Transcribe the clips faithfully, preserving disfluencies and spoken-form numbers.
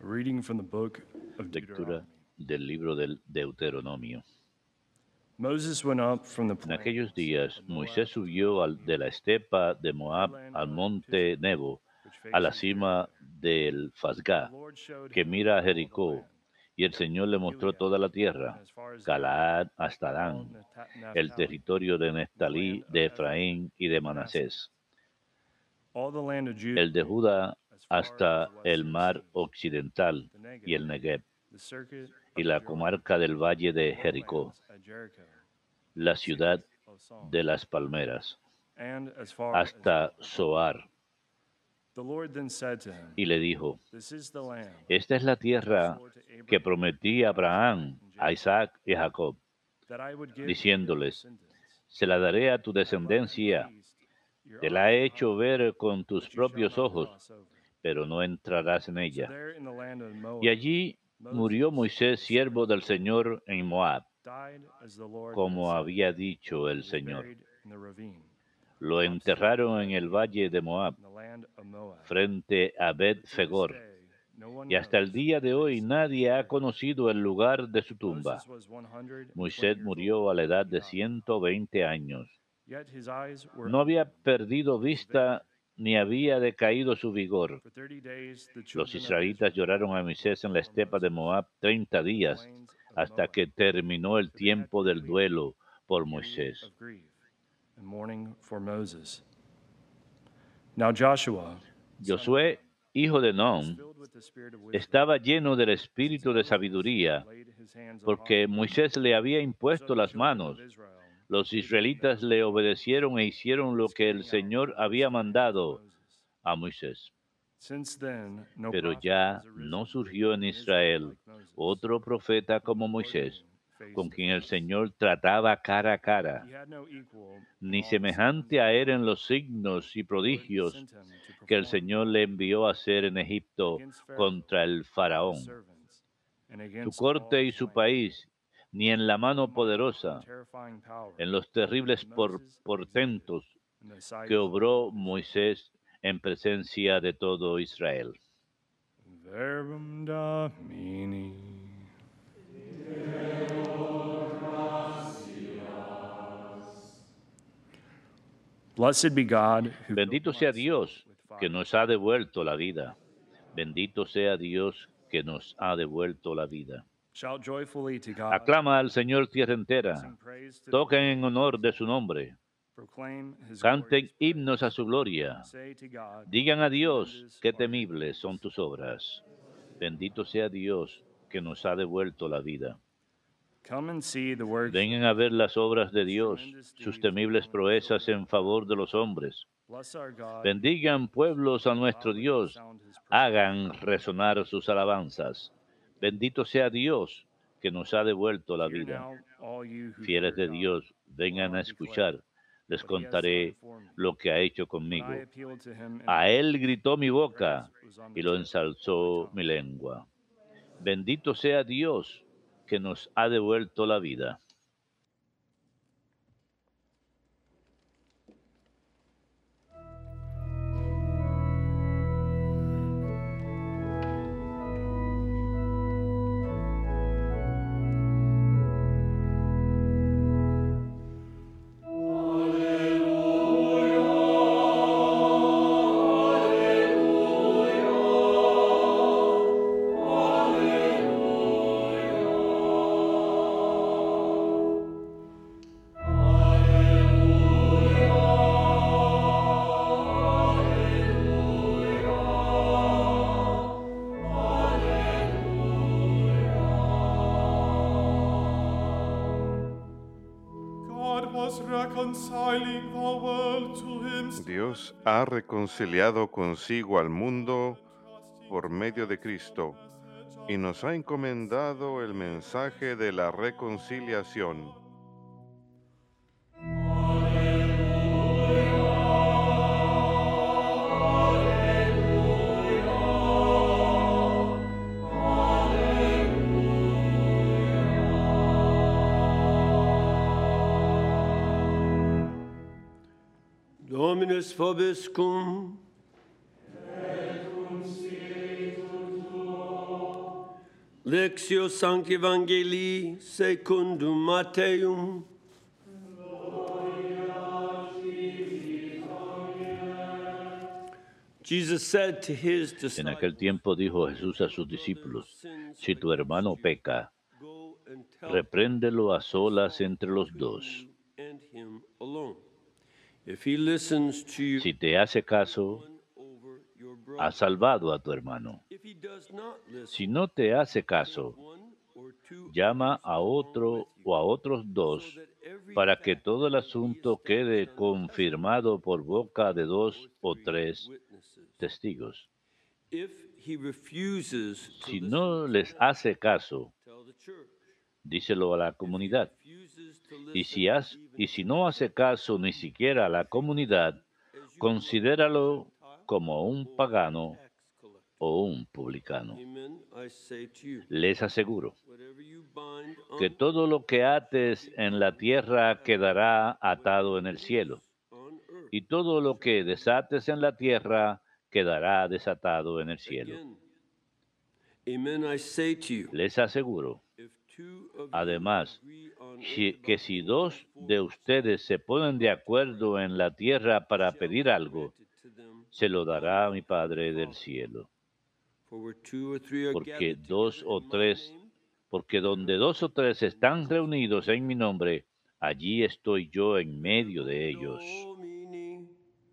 Reading from the book of Lectura Deuteronomy. del libro del Deuteronomio. Moses went up from the En aquellos plains días, of Moab Moisés to the subió al- de la estepa de Moab headland al of monte Pisgah, Nebo, which a la faces cima Jericho. del The Fasgá, Lord showed que him mira a all the Jericó, land, y el Señor le mostró Gilead, toda la and tierra, as far as Dan, Galaad hasta all Dan, Naphtha- el Naphtali, territorio de the land Neftalí, of de Ephraim Efraín y de and Manasseh, Manasés, all the land of Judah, el de Judá as far as hasta the el western mar sea, occidental the y Negev, el Negev, the circuit y of the la Jordan, comarca del valle the de Jericó, lowlands at Jericho, la the cities ciudad of Psalm, de las palmeras, and as far as hasta Gath. Zoar. The Lord then said to him, Y le dijo, "This is the land esta es la I tierra swore to que Abraham, prometí a Isaac, Abraham, and a Jacob, Isaac y a Jacob, that I would give to their diciéndoles, descendants. se la daré a tu I have let them descendencia, feast, your te la eyes he have hecho hungered, ver con tus but you shall propios not ojos, cross over." pero no entrarás en So ella. there in the land of Y Moab, allí murió Moses, Moisés, the servant siervo of the del Lord, Señor, en Moab, died as the Lord had como said, había dicho el and was Señor. buried in the ravine, Lo opposite enterraron en el Bet-Peor, valle de Moab, in the land of Moab. frente a For to this Bet-Fegor. day, no one Y hasta el knows día de where he hoy slept his nadie ha grave. conocido el lugar de su tumba. Moses was one hundred twenty Moisés years old murió a la when edad he de died. ciento veinte años. Yet his eyes were No había open, perdido and his face, vista ni había decaído su vigor. for thirty days the Los children of israelitas Israel lloraron a Moisés wept en la for estepa de Moses Moab treinta in the días, plains of hasta Moab, que terminó el for they had tiempo del completed duelo por the period Moisés. of grief and mourning for Moses. Now Joshua, son of Josué, Nun, hijo de was Nun, filled with the spirit of wisdom, estaba lleno del since espíritu de Moses sabiduría, had laid his hands upon porque him. Moisés le había So impuesto the las children manos. of Israel Los did everything that israelitas was le written in the books, obedecieron e hicieron lo as que el carrying out Señor the había voice of the hands of mandado Moses. a Moisés. Since then, no Pero prophet ya has no arisen surgió en in Israel Israel like Moses, otro profeta whom como the Lord knew Moisés, face con to quien el face. Señor trataba cara a cara, He had no equal in ni all the signs semejante a and él en wonders los signos y the Lord prodigios sent him to que el perform Señor le envió a hacer en Egipto against Pharaoh, contra el his faraón, servants, and su against all corte y his su land. país, ni en la For a mano mighty and poderosa, terrifying power en los terribles por- Moses exhibited portentos in the sight que of all obró Israel. Moisés en presencia de todo Israel. Verbum Domini. Blessed be God who filled Bendito my sea soul Dios with que fire, nos ha devuelto la vida. Bendito sea Dios que nos ha devuelto la vida. shout joyfully to God, Aclama al Señor tierra sing entera. praise to the Toquen Lord, en honor de su nombre. proclaim his Canten glorious himnos a praise. su gloria. Say to God, Digan a Dios, tremendous qué are your temibles son deeds. tus obras. Bendito sea Dios que nos ha devuelto la vida. Come and see the works of Vengan a ver las obras de his Dios, tremendous sus deeds temibles among the proezas children en of men. favor de los hombres. Bless our God, you Bendigan peoples, pueblos a nuestro loudly Dios, sound his praise. hagan resonar sus alabanzas. Bendito sea Dios que nos ha devuelto la Hear vida. now, all you who Fieles fear de God, Dios, will vengan I a declare escuchar. Les what he has done contaré for me. lo que ha hecho When I conmigo. appealed to him in A prayer, él gritó mi his boca praise was on y the lo tip of my ensalzó tongue. mi lengua. Bendito sea Dios que nos ha devuelto la vida. Dios ha reconciliado consigo al mundo por medio de Cristo y nos ha encomendado el mensaje de la reconciliación. Dominus vobiscum. Lectio Sancti Evangelii secundum Matteum. Jesus said to his En disciples, aquel tiempo dijo Jesús a sus discípulos, si tu hermano peca, "Go and tell repréndelo a solas entre los between dos. you and him alone. If he listens to you, Si te hace caso, win over your brother. has salvado a tu hermano. If he does not listen, Si no te hace caso, one or two llama others a along otro with you, o a otros so dos that every para que fact todo el may be asunto established quede on the confirmado por boca de testimony dos of o three tres witnesses. testigos. If he refuses to Si listen no to les them, hace caso, tell the church. díselo a la If he comunidad. refuses to Y listen si, has- even y si to no the hace church, caso ni siquiera a la comunidad, as you would a considéralo Gentile como un or a pagano tax collector. o un publicano. Amen. I say to you, Les aseguro whatever you bind que on todo lo que ates en la tierra quedará atado en el cielo, on earth. y todo lo que desates en la tierra quedará desatado en el cielo. Again, amen. I say to you, Les aseguro, if two of you además, agree on si- earth que about si anything dos for de which ustedes se ponen de acuerdo en la tierra para shall pedir be algo, granted to them se lo of dará my mi Padre del Father. cielo. For where two or three are Porque gathered dos together o in my tres, name, porque donde dos o tres están reunidos en mi nombre, allí estoy yo en medio de ellos. Domini.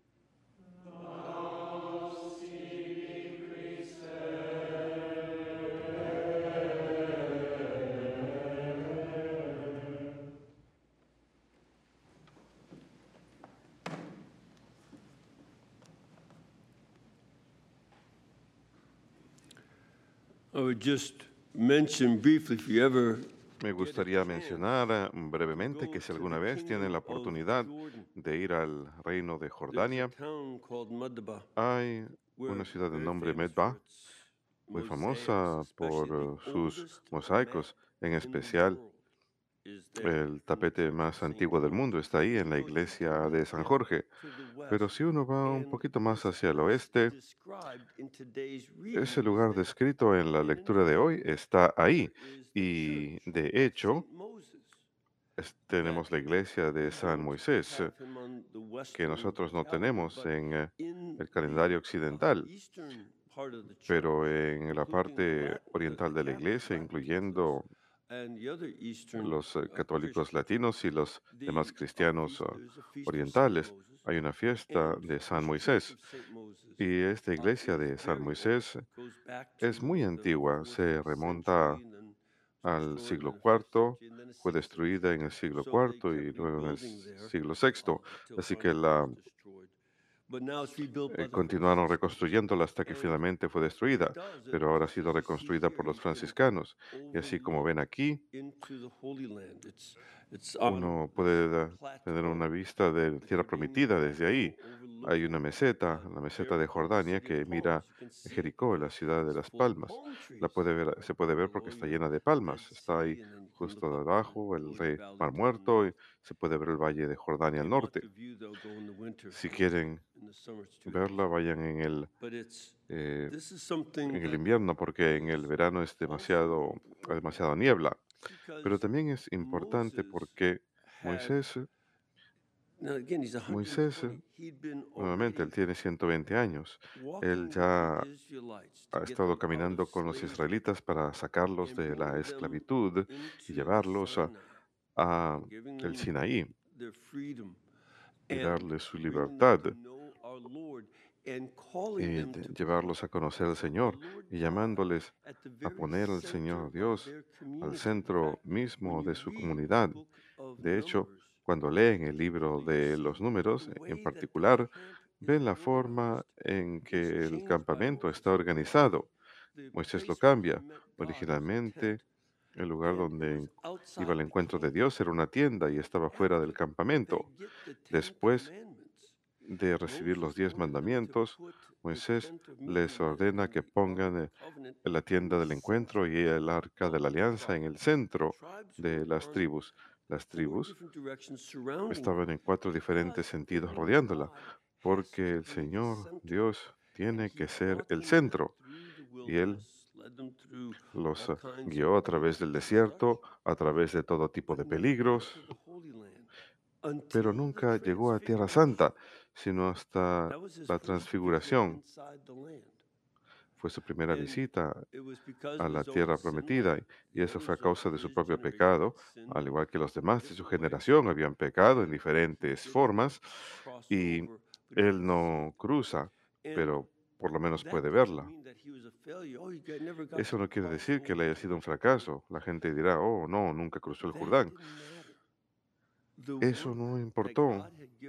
I would just mention briefly, if you ever Me gustaría mencionar eh, brevemente que si alguna vez tienen la oportunidad de ir al reino de there's a Jordania, town called Madaba, hay where una ciudad de very nombre famous for Medba, its muy mosaics, famosa por especially eh, the sus oldest mosaicos, en mat in the especial world is there el in the tapete Church of más Saint antiguo del George. mundo está ahí en la But you iglesia can de look San down Jorge. to the Pero west, si uno va un and poquito más it's hacia el just oeste, described in today's ese reading lugar is there. descrito en la And in lectura de hoy fact, está ahí. there is the Y church de of hecho, Saint Moses. es- that tenemos la iglesia de we San don't Moisés, have him on the que Western nosotros no calendar, tenemos but en eh, in el the calendario uh, occidental, eastern part of the church, pero en la including the parte Latin, the, oriental the de la Catholic iglesia, Latin Catholics incluyendo and the other eastern los eh, uh, católicos Christians, latinos y los demás the uh, cristianos feast, ah, there's a feast of Saint orientales, Moses, hay una fiesta and de San this church Moisés. of Saint Moses Y esta uh, iglesia is de San very old, Moisés goes back es muy to the antigua, fourth, se fifth remonta century, and then al destroyed siglo in the fifth cuarto, century, and then the fue sixth century. destruida en el siglo So they cuarto y kept luego en el rebuilding there siglo uh, sexto. till Así que finally it la was destroyed. But now it's rebuilt by eh, the continuaron Franciscans. reconstruyéndola hasta que And finalmente fue what it destruida, does, pero ahora ha just sido as you see reconstruida here, por los you can franciscanos. Y así como overlook ven aquí, into the Holy Land. It's, it's on uno this puede da- tener una plateau vista de that tierra Judean prometida desde ahí. plateau Hay una overlooking meseta, uh, la meseta de Jericho, the Jordania, city of que palms. mira You can see it Jericó, la because ciudad de it's las full of palmas. palm La trees puede ver, se puede ver porque below está you, llena de the Dead palmas. Está Sea, ahí and then you can justo look up debajo, the el Jordan rey Valley Mar to the Muerto, north. y se puede ver el valle de Jordania If al you want norte. the view, though, go in the winter. Si quieren In the summer, it's too hot. verla, vayan en el, But it's eh, this is something en el that invierno porque en el is verano es also demasiado, hay important demasiada niebla. Pero because también es importante Moses porque had Moisés, now again he's Moisés, one hundred twenty. He'd been nuevamente, él already tiene ciento veinte años. Él walking with ya the Israelites to ha get estado them out of caminando con los slavery israelitas para sacarlos and de la bringing them esclavitud y into llevarlos a, Sinai a and giving el them Sinaí their freedom y and darles su bringing them libertad to know our Lord and calling y them de- to llevarlos a put conocer al the Señor Lord y God llamándoles at the a very poner al center Señor of Dios their al community. In centro fact, when mismo you de su read the comunidad. book of De hecho, Numbers, cuando in leen el particular, libro you de see los números, the en way that the particular, camp is ven la forma organized en was que el changed by campamento Moses. está Originally, organizado. the Moisés lo place where they cambia. met God was a Originalmente, tent, el lugar and it donde was iba al outside the encuentro de camp. Dios era una tienda y estaba fuera del After they campamento. get the Ten Después Commandments, de recibir los Moses diez ordered them to mandamientos, put the Moisés tent of les meeting there ordena and que the Ark of pongan the eh, Covenant la in tienda the del encuentro center y el arca de of la the alianza en tribe. el The centro tribes de were las on tribus. Las four tribus different directions surrounding estaban them en cuatro diferentes because the sentidos Lord rodeándola, God has porque to el be the Señor center. Dios And tiene he que ser brought el them there centro through the y Él wilderness, led Los eh, guió a través del desierto, a través de todo tipo de peligros, pero nunca llegó a Tierra Santa, sino hasta la transfiguración. Fue su primera visita a la tierra prometida, y eso fue a causa de su propio pecado, al igual que los demás de su generación habían pecado en diferentes formas, y él no cruza, pero por lo menos puede verla. Eso no quiere decir que él haya sido un fracaso. La gente dirá, oh, no, nunca cruzó el Jordán. Eso no importó.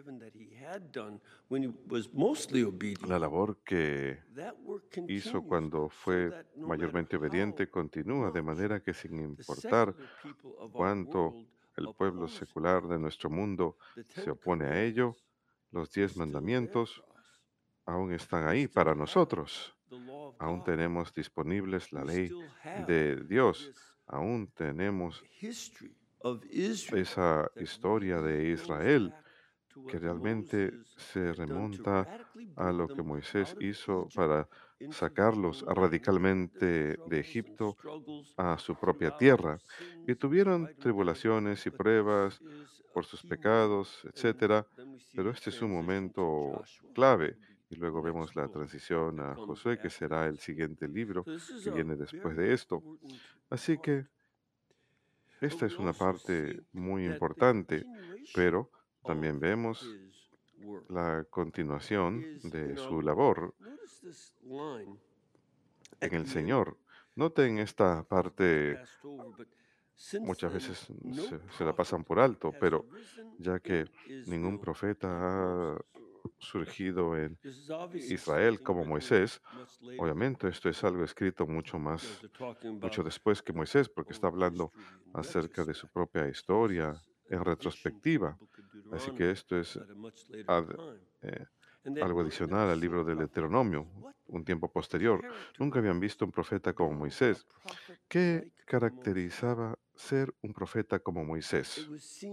La labor que hizo cuando fue mayormente obediente continúa, de manera que sin importar cuánto el pueblo secular de nuestro mundo se opone a ello, los diez mandamientos aún están ahí para nosotros. Aún tenemos disponibles la ley de Dios. Aún tenemos esa historia de Israel que realmente se remonta a lo que Moisés hizo para sacarlos radicalmente de Egipto a su propia tierra. Y tuvieron tribulaciones y pruebas por sus pecados, etcétera, pero este es un momento clave. Y luego vemos la transición a Josué, que será el siguiente libro que viene después de esto. Así que esta es una parte muy importante, pero también vemos la continuación de su labor en el Señor. Noten esta parte, muchas veces se, se la pasan por alto, pero ya que ningún profeta ha surgido en Israel como Moisés, obviamente esto es algo escrito mucho más, mucho después que Moisés, porque está hablando acerca de su propia historia en retrospectiva. Así que esto es ad- eh, algo adicional al libro del Deuteronomio, un tiempo posterior. Nunca habían visto un profeta como Moisés. ¿Qué caracterizaba ser un profeta como Moisés?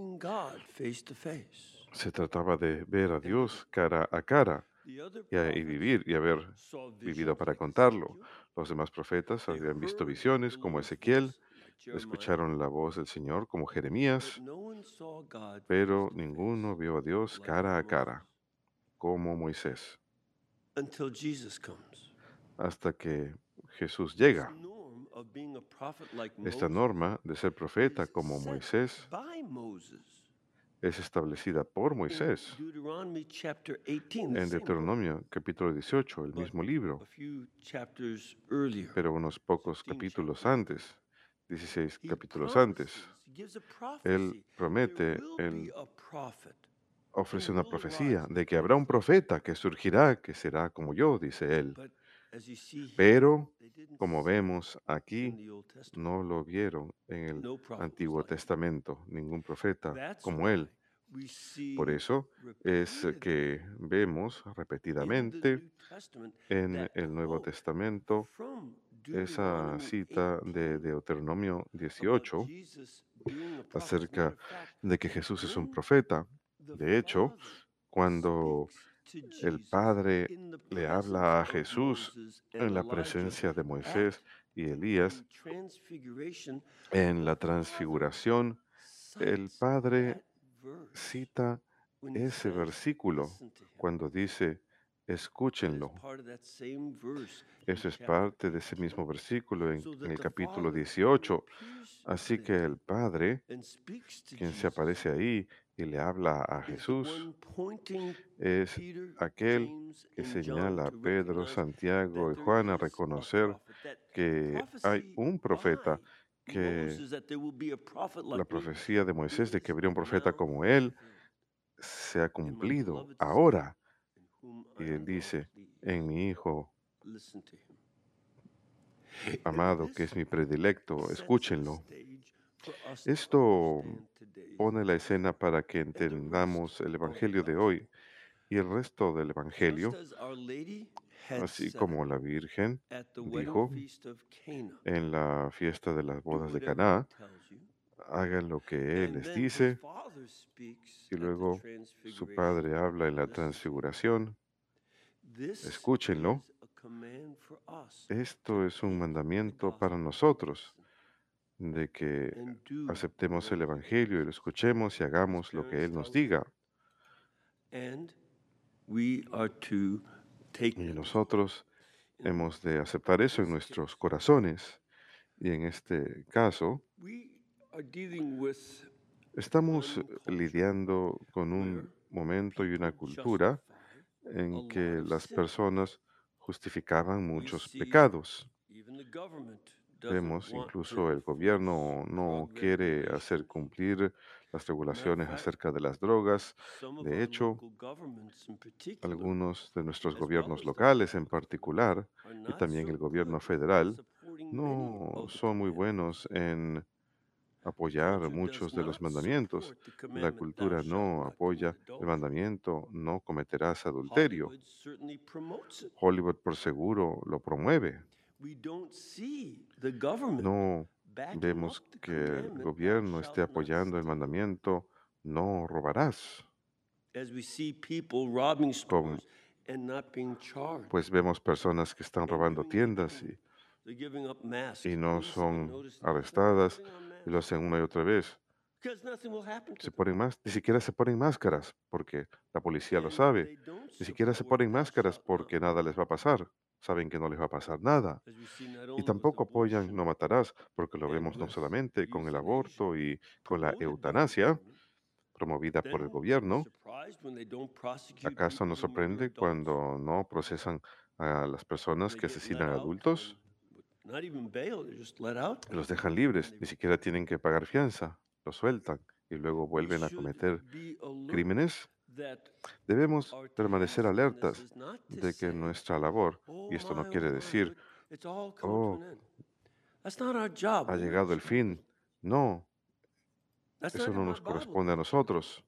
Se trataba de ver a Dios cara a cara y, a- y vivir y haber vivido para contarlo. Los demás profetas habían visto visiones como Ezequiel, escucharon la voz del Señor como Jeremías, pero ninguno vio a Dios cara a cara como Moisés, until Jesus comes. hasta que Jesús This llega. norm of being a prophet like Esta Moses norma de ser profeta is como set Moisés by Moses es establecida por in Moisés Deuteronomy chapter eighteen, the en same book, Deuteronomio capítulo dieciocho, el but mismo a libro, few chapters earlier, pero unos pocos fifteen capítulos chapters. antes, dieciséis He capítulos antes. promises, he gives a Él prophecy. There promete, will be él a prophet who ofrece una will profecía arise de que habrá like un me. profeta que surgirá, que será como yo, dice él. But as you see here, Pero, they didn't como see vemos it in aquí, the Old Testament. no lo vieron en el No prophet was Antiguo like him. Testamento, ningún profeta That's como why él. we Por see eso es repeatedly que vemos in the repetidamente New Testament en that el Nuevo quote Testamento from esa Deuteronomy cita de eighteen Deuteronomio about dieciocho Jesus being a prophet. As a matter acerca of fact, de que Jesús es un when profeta. the De hecho, Father cuando speaks to el Jesus Padre in the le presence habla a of Jesús Moses and en la Elijah presencia de at Moisés y the Elías, transfiguration, en the la Father transfiguración, el cites Padre that verse cita when he ese says, versículo listen to him. cuando dice, That is escúchenlo. part of that same verse in Eso es chapter parte de ese mismo eighteen. versículo en, So en that el the capítulo Father, when he dieciocho. appears Así que there el Padre, and speaks to quien se Jesus, aparece ahí y le habla a is the Jesús, one pointing es Peter, aquel James, que and John señala a to Pedro, recognize Santiago that y there Juan a is a reconocer prophet, that que hay prophecy un profeta, by que Moses, that there will be a prophet la like me, profecía de Moisés de que is habría un profeta now como él fulfilled se ha in my cumplido beloved Son, ahora. in whom Y I él am well dice, pleased. en mi Hijo Listen to him. amado, que This es mi predilecto, sets the escúchenlo. stage for us to Esto understand today's pone la gospel escena para que and the rest entendamos el of the Evangelio de gospel. hoy y el resto del Just Evangelio, as Our Lady had así said como la Virgen at the wedding dijo feast of Cana, en la fiesta de las do bodas de whatever he Caná, tells you. hagan lo que Él And les then his dice, father speaks y at the luego su transfiguration. Padre habla en la Listen to him. transfiguración, This escúchenlo. is a command for us. Esto es un mandamiento para nosotros, de que and do aceptemos el whatever Evangelio y lo escuchemos y his hagamos lo que parents Él nos tells us. diga. And we are to take Y that nosotros in hemos de aceptar eso en this nuestros case. corazones. Y en este caso, We are dealing with estamos one culture lidiando con where un momento y una people cultura justify a en lot que of las sin. personas justificaban We muchos see pecados. even the government doesn't Vemos want to incluso el enforce gobierno no drug quiere hacer regulations. cumplir las Matter of regulaciones fact, acerca de las drogas. some of De our hecho, local governments in particular, algunos de nuestros as well gobiernos as the locales en federal government, particular, are y not también so el gobierno good in federal, supporting many no of the son muy commandments. buenos en The apoyar culture muchos does de los not mandamientos. support the La commandment, thou cultura shalt no not commit apoya el adultery. mandamiento, no cometerás adulterio. Hollywood certainly promotes it. Hollywood por seguro lo promueve. We don't see the government No backing up vemos the que el commandment, thou gobierno esté shalt not apoyando el steal. mandamiento, no robarás. As we see people robbing Como, stores and not being charged pues vemos personas que están and robando doing it tiendas again. y, They're giving up masks. y no Police have been son noticing this. They're arrestadas putting on y lo masks hacen una y otra vez. because nothing will happen to Se them. ponen más, ni siquiera se ponen máscaras porque la policía lo And sabe. they don't Ni siquiera se support ponen thou máscaras shalt not porque nada les va a murder. pasar. Saben que no les va a pasar nada. As we see not Y only with tampoco apoyan no abortion matarás, porque lo and vemos no with solamente con el euthanasia aborto y con la promoted by the eutanasia government, promovida por el then are we gobierno. surprised when they don't prosecute ¿Acaso people nos who murder sorprende adults cuando no procesan a las and personas they que get let asesinan out adultos? on with not even bail, they're just let out? Los dejan And libres, they, ni siquiera tienen que pagar fianza, los sueltan y luego we vuelven a should cometer be alert crímenes. that Debemos our permanecer task in this alertas is not to de que say, nuestra labor, oh y esto no my, oh quiere my, decir, but it's all coming to oh, an end. That's not our job. ha We're not llegado el responsible. fin. No, That's eso not no in my nos Bible. corresponde a nosotros.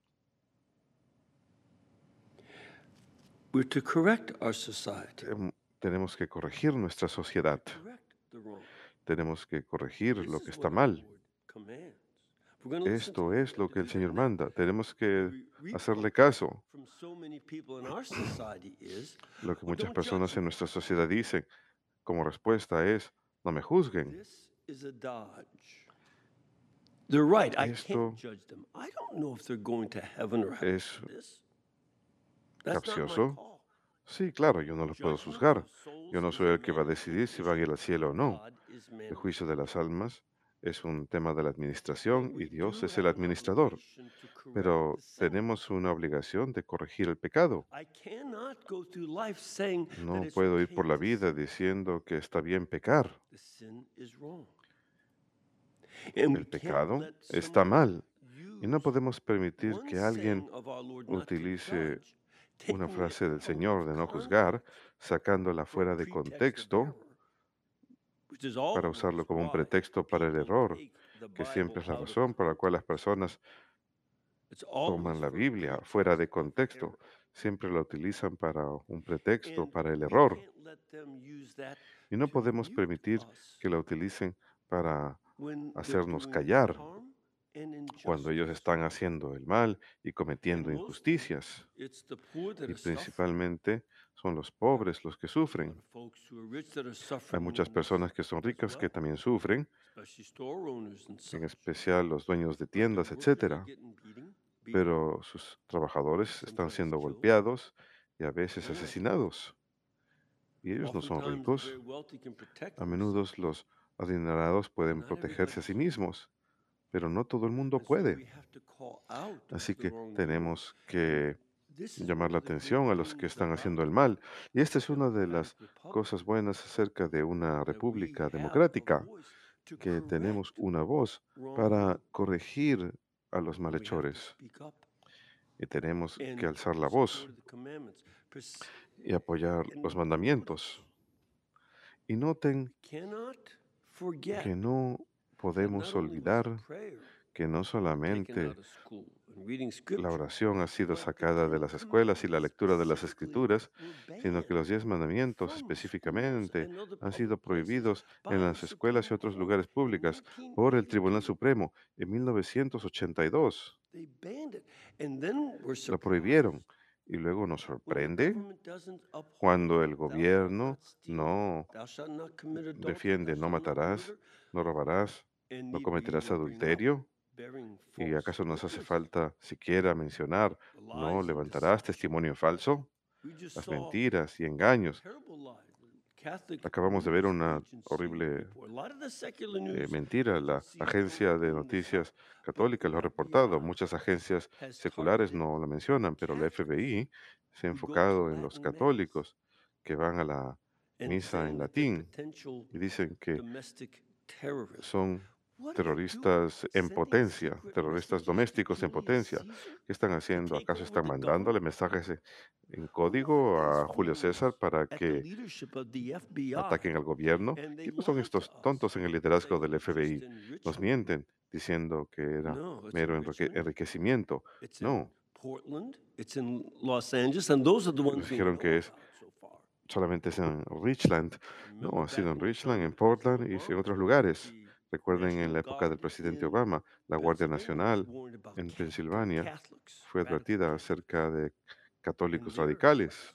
We're to correct our society, Tem- Tenemos que corregir nuestra sociedad. correct the wrong. Tenemos que corregir This lo que is está what our mal. Lord commands. We're going to listen to Esto him. es We lo have to que el do that Señor now. manda. Tenemos que The hacerle reproach caso. from so many people in our society is, Lo que oh, muchas don't personas judge en me. nuestra sociedad dicen como respuesta es, no me juzguen. This is a dodge. They're right. I Esto can't judge them. I don't know if they're going to heaven or hell. es This, that's not my capcioso. call. Sí, claro, yo no los puedo Judgment juzgar. of souls Yo no is soy a el que va a matter of decidir si van a ir al cielo o administration. no. God is El managing. juicio de las almas es un tema de la But administración y we Dios do es el have an administrador. obligation to correct Pero the sin. tenemos una obligación de corregir el pecado. I cannot go through life saying that No it's puedo ir okay por la to vida sin. diciendo que está bien pecar. The sin is wrong. And we El can't pecado let está someone mal y no use podemos permitir one que alguien saying of our Lord not to utilice judge, una taking it frase del out Señor of de no context juzgar, sacándola for a fuera de pretext of contexto error, which is para always usarlo como un why pretexto para el people error, take the que Bible siempre es la out of razón por la cual las context. personas It's always toman la for a Biblia fuera de pretext of contexto. error. Siempre la utilizan para un pretexto, And para el we error. can't let them use that Y no to podemos mute permitir us que la utilicen para when they're hacernos doing callar harm and cuando ellos injustice. están haciendo el mal y And cometiendo mostly, injusticias. it's the poor that Y are suffering. principalmente son los There are pobres los que a lot sufren. of folks who are rich that are Hay suffering muchas in this personas que son as ricas que well, también sufren, especially store owners and en such. especial los dueños de But their tiendas, workers are etcétera. getting beaten, beaten, Pero sus trabajadores están sometimes siendo killed. golpeados y a veces They're not rich. asesinados. Y ellos no son Oftentimes, the ricos. very wealthy can protect A menudo themselves, los adinerados pueden not protegerse a everybody sí can. mismos, pero no todo el mundo And so we puede. have to call out Así the que wrongdoer. tenemos And que this is llamar one la of the great atención a los que things están about haciendo el mal. Y esta a es una de democratic las republic, cosas buenas acerca de una that we república have a democrática, voice to que tenemos correct una voz para wrongdoing. corregir a los And we have to malhechores speak up y tenemos que and alzar la voz support the commandments. Pers- y apoyar And los notice, mandamientos. Y noten we cannot forget que no that podemos not only was olvidar prayer que no taken solamente out of school and reading la scripture, oración ha sido but the sacada de Ten las escuelas y la Commandments lectura de las specifically escrituras, were sino que banned los diez mandamientos from schools específicamente and other han sido public places prohibidos en by the las escuelas y Supreme otros Court lugares in públicos por el Tribunal nineteen eighty-two. Supremo en mil novecientos ochenta y dos. They banned it. And then we're Lo prohibieron surprised Y luego nos when the sorprende government doesn't cuando el uphold, thou shalt gobierno not steal, no thou shalt not commit adultery, thou defiende, no shalt not matarás, murder, no robarás, and no need we cometerás not bring up adulterio. bearing ¿Y false acaso nos hace witness? falta siquiera mencionar, The no lies and levantarás deception. testimonio falso? We just Las saw mentiras y engaños. terrible lies. Catholic Acabamos de ver news una agency horrible report. A lot of the secular eh, news mentira. La agencies don't agencia de bring this up, noticias but católica the lo ha reportado. F B I Muchas agencias has seculares targeted no la mencionan, pero la Catholics F B I se ha who go to enfocado en los Latin Mass católicos que van a la and misa en saying that they're latín potential y dicen que domestic terrorists. son What are they doing? terroristas en Sending potencia, secret terroristas messages to domésticos en Julius potencia. Caesar ¿Qué están to haciendo? take ¿Acaso over están the mandándole government? mensajes e- en Who are código these a Julio César fools para at the que leadership of the F B I? ataquen al gobierno? And they ¿Quiénes son lied to estos us, tontos en el liderazgo saying del it was just F B I? in Nos Richmond. mienten diciendo que era No, it's mero in enrique- Richmond. enriquecimiento. It's in No, Portland. It's in Los Angeles, and those are the ones nos we dijeron know que es about so far. solamente es en Richland. No, Remember ha sido back en in Richland, en President Portland y en Obama's otros term, lugares. the Recuerden en National la época del Guard presidente in Obama, la Guardia Pennsylvania was Nacional warned about en ca- Pensilvania Catholics, fue radical advertida Catholics, acerca de in católicos their radicales classes.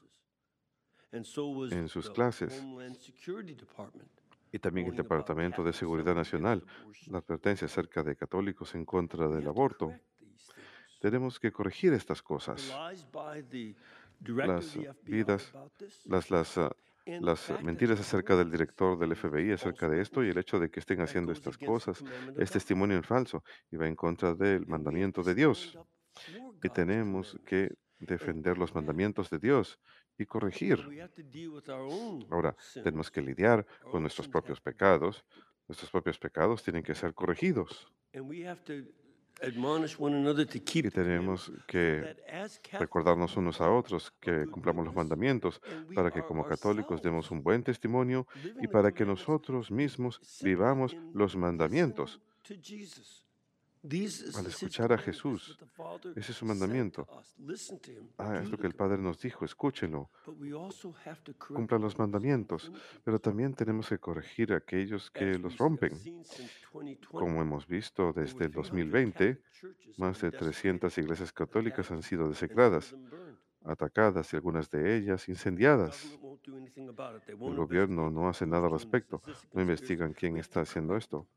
And so was en sus the clases. Homeland Security Department Y también el warning about Departamento de Catholics Seguridad selling against Nacional, abortion. la advertencia acerca de católicos en contra We del have to aborto. correct these things. Tenemos que corregir estas The cosas. lies by the director of Las the F B I vidas, about this, las, las, ah, and the las fact that mentiras they're acerca doing del it is director del is F B I a acerca false de esto y el witness. hecho de que estén That haciendo goes estas against the cosas commandment of es God. testimonio en falso y va en contra del And we have mandamiento to de stand Dios. up for Y God's tenemos que commandments and defender los correct. mandamientos de Dios y And corregir. we have to deal with our own Ahora, tenemos sins. que lidiar Our con own nuestros sins propios have to be pecados. corrected. Nuestros propios pecados tienen que ser corregidos. And we have to admonish one another to Y keep the commandments tenemos so que that as Catholics recordarnos we unos a become otros a que good cumplamos los witness mandamientos and we para que are como católicos demos ourselves un buen testimonio y living the para que commandments nosotros mismos simply vivamos in los listening mandamientos. to Jesus. These is Al his escuchar a commandment. This is Jesús, what the Father ese es su said mandamiento. to us. Listen to him. Ah, es Do lo the que el Padre commandments. nos dijo, escúchenlo, But we also have to correct cumplan los those mandamientos, infringements. pero también tenemos que corregir a aquellos que As los we have rompen. seen since twenty twenty, Como hemos visto over desde el three dos mil hundred veinte, Catholic churches have más been de trescientas desecrated, iglesias católicas han attacked, sido and some of desecradas, them burned. atacadas y algunas de ellas The incendiadas. government won't do anything about it. They El won't gobierno investigate no hace nada al who's doing this. respecto, Is this a no conspiracy? investigan quién We have está to haciendo correct esto. them.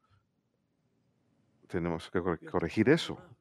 Tenemos que cor- We have to corregir point them eso. out.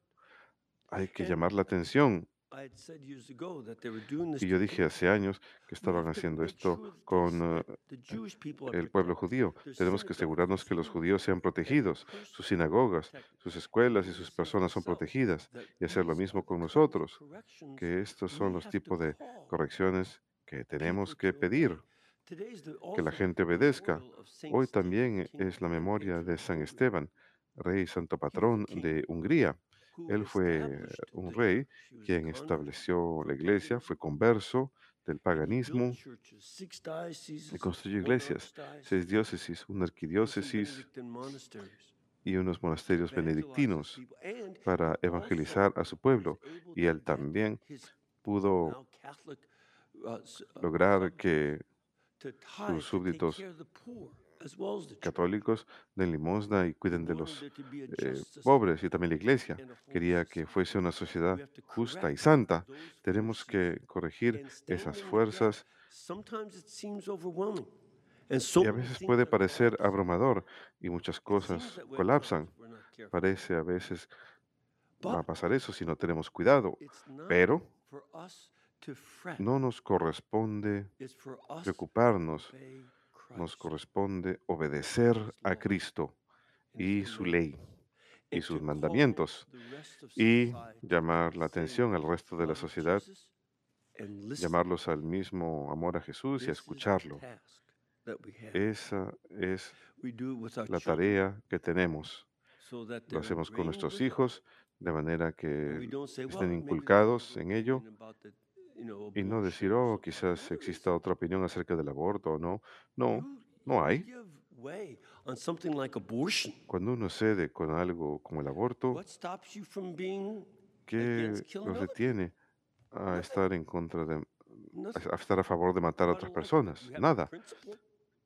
Hay que And llamar la atención. I had said years ago that they were doing this Y yo to dije Jews. hace años que We estaban have to haciendo make esto sure that they con see eh, that the Jewish people are el pueblo protected, judío. their Tenemos que synagogues are asegurarnos que los protected, judíos sean that their protegidos, persons sus are sinagogas, protected. sus And escuelas y Jesus sus said personas son himself protegidas. that Y hacer lo these mismo are the con kinds of nosotros, corrections que estos son we los have to tipos de call correcciones que people tenemos que to pedir, obey. Today is the, que la also the gente obedezca. memorial of Saint Hoy Stephen, también King es la and memoria Patron de of San Hungary. Esteban, rey y santo He was a patrón king de Hungría. who Él fue established un the rey church. He was a quien convert estableció for la iglesia, paganism. fue converso del And he built paganismo churches, six y dioceses, construyó one iglesias, archdiocese, seis diócesis, una and some arquidiócesis Benedictine monasteries y unos to monasterios evangelize his benedictinos people. And para he evangelizar also a su was pueblo. able Y to él get también his pudo now Catholic uh, s- uh, lograr subjects que to sus tithe, to take súbditos care of the poor, as well as the church. católicos den limosna y He cuiden de wanted los there to be a eh, just society pobres y también la iglesia. and a holy Quería que society. fuese una sociedad We have to justa y correct santa. those Tenemos forces que corregir and stand esas in the gap. fuerzas Sometimes it seems overwhelming. And so y a many veces things puede are parecer collapsing. abrumador y muchas It seems cosas that way at times colapsan. if we're not careful. Parece a veces va a But pasar eso si no tenemos cuidado, it's not pero for us to fret. no nos corresponde It's for us to preocuparnos, obey nos Christ corresponde obedecer and his a law Cristo and y his su commandments, ley y and sus to mandamientos call the rest of y society llamar to la the same atención al resto de la love of sociedad, Jesus and listen. llamarlos al mismo amor a Jesús y a This is the escucharlo. task that we have. Esa es We do it with our la children tarea que tenemos. so that Lo they're hacemos con ingrained nuestros with it. hijos de manera And que we don't say, well, estén maybe there's inculcados another en ello opinion about the, you know, y no decir, abortion or oh, something. quizás No, there exista isn't. otra opinión acerca del aborto o no. No, You, no you hay. give way on something like abortion. Cuando uno cede con algo como el aborto, What stops you from being ¿qué against killing los other people? detiene a Nothing. estar en contra de, Nothing. a a estar a favor de matar a What otras about enlightenment? personas? You have no Nada. principle.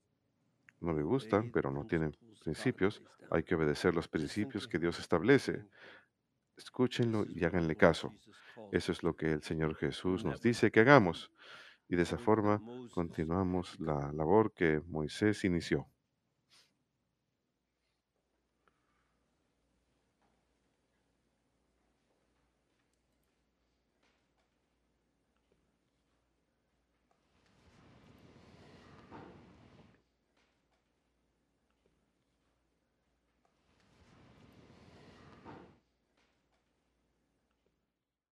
No me You gustan, obey the pero no tienen principles God principios. lays down. Hay que obedecer los Listen principios to que Him Dios establece. and escúchenlo y háganle caso. Eso es lo que el Señor Jesús nos dice que hagamos. Y de esa forma continuamos la labor que Moisés inició.